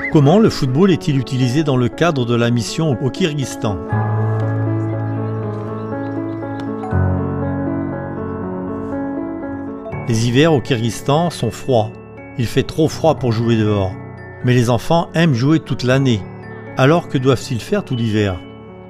Comment le football est-il utilisé dans le cadre de la mission au Kyrgyzstan? Les hivers au Kyrgyzstan sont froids. Il fait trop froid pour jouer dehors. Mais les enfants aiment jouer toute l'année. Alors que doivent-ils faire tout l'hiver?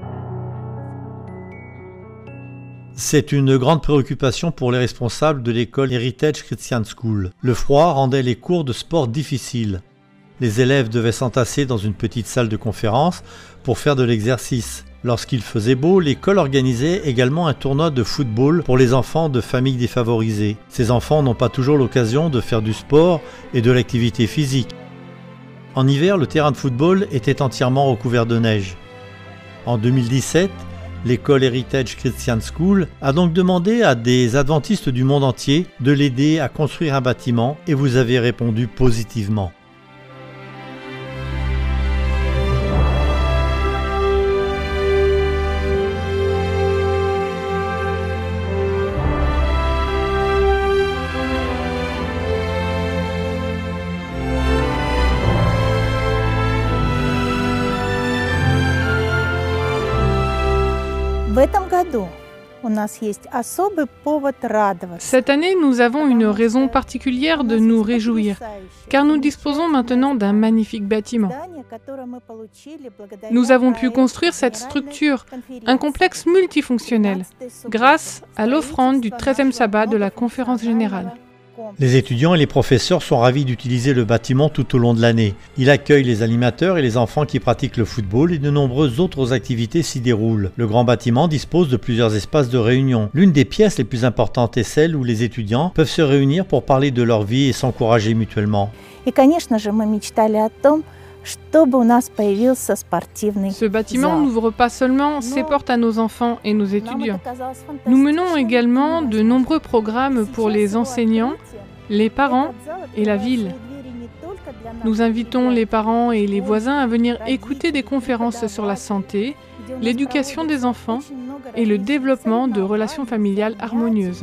C'est une grande préoccupation pour les responsables de l'école Heritage Christian School. Le froid rendait les cours de sport difficiles. Les élèves devaient s'entasser dans une petite salle de conférence pour faire de l'exercice. Lorsqu'il faisait beau, l'école organisait également un tournoi de football pour les enfants de familles défavorisées. Ces enfants n'ont pas toujours l'occasion de faire du sport et de l'activité physique. En hiver, le terrain de football était entièrement recouvert de neige. En 2017, l'école Heritage Christian School a donc demandé à des adventistes du monde entier de l'aider à construire un bâtiment et vous avez répondu positivement. Cette année, nous avons une raison particulière de nous réjouir, car nous disposons maintenant d'un magnifique bâtiment. Nous avons pu construire cette structure, un complexe multifonctionnel, grâce à l'offrande du 13e sabbat de la Conférence générale. Les étudiants et les professeurs sont ravis d'utiliser le bâtiment tout au long de l'année. Il accueille les animateurs et les enfants qui pratiquent le football et de nombreuses autres activités s'y déroulent. Le grand bâtiment dispose de plusieurs espaces de réunion. L'une des pièces les plus importantes est celle où les étudiants peuvent se réunir pour parler de leur vie et s'encourager mutuellement. Ce bâtiment n'ouvre pas seulement ses portes à nos enfants et nos étudiants. Nous menons également de nombreux programmes pour les enseignants, les parents et la ville. Nous invitons les parents et les voisins à venir écouter des conférences sur la santé, l'éducation des enfants et le développement de relations familiales harmonieuses.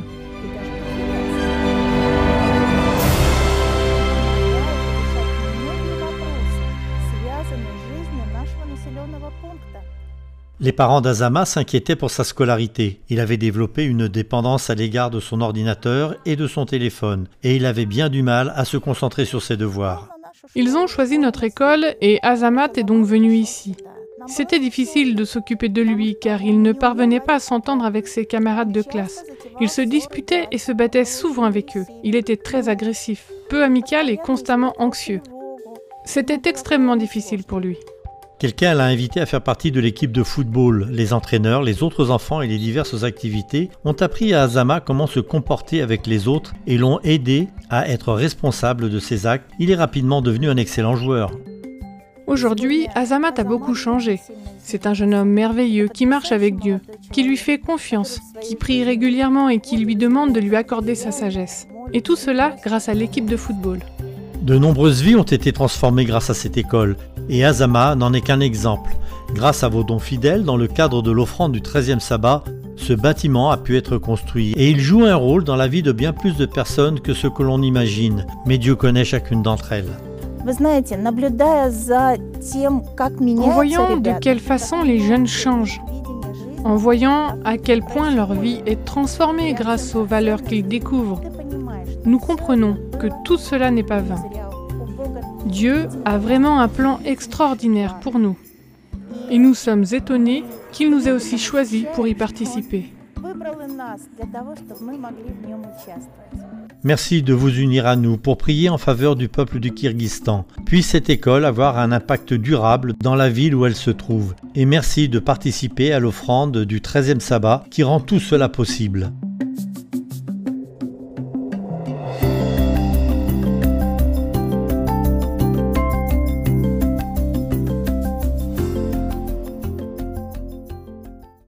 Les parents d'Azama s'inquiétaient pour sa scolarité. Il avait développé une dépendance à l'égard de son ordinateur et de son téléphone, et il avait bien du mal à se concentrer sur ses devoirs. Ils ont choisi notre école et Azamat est donc venu ici. C'était difficile de s'occuper de lui car il ne parvenait pas à s'entendre avec ses camarades de classe. Il se disputait et se battait souvent avec eux. Il était très agressif, peu amical et constamment anxieux. C'était extrêmement difficile pour lui. Quelqu'un l'a invité à faire partie de l'équipe de football. Les entraîneurs, les autres enfants et les diverses activités ont appris à Azama comment se comporter avec les autres et l'ont aidé à être responsable de ses actes. Il est rapidement devenu un excellent joueur. Aujourd'hui, Azamat a beaucoup changé. C'est un jeune homme merveilleux qui marche avec Dieu, qui lui fait confiance, qui prie régulièrement et qui lui demande de lui accorder sa sagesse. Et tout cela grâce à l'équipe de football. De nombreuses vies ont été transformées grâce à cette école, et Azama n'en est qu'un exemple. Grâce à vos dons fidèles, dans le cadre de l'offrande du 13e sabbat, ce bâtiment a pu être construit, et il joue un rôle dans la vie de bien plus de personnes que ce que l'on imagine, mais Dieu connaît chacune d'entre elles. En voyant de quelle façon les jeunes changent, en voyant à quel point leur vie est transformée grâce aux valeurs qu'ils découvrent, nous comprenons que tout cela n'est pas vain. Dieu a vraiment un plan extraordinaire pour nous. Et nous sommes étonnés qu'il nous ait aussi choisis pour y participer. Merci de vous unir à nous pour prier en faveur du peuple du Kyrgyzstan. Puisse cette école avoir un impact durable dans la ville où elle se trouve. Et merci de participer à l'offrande du 13e sabbat qui rend tout cela possible.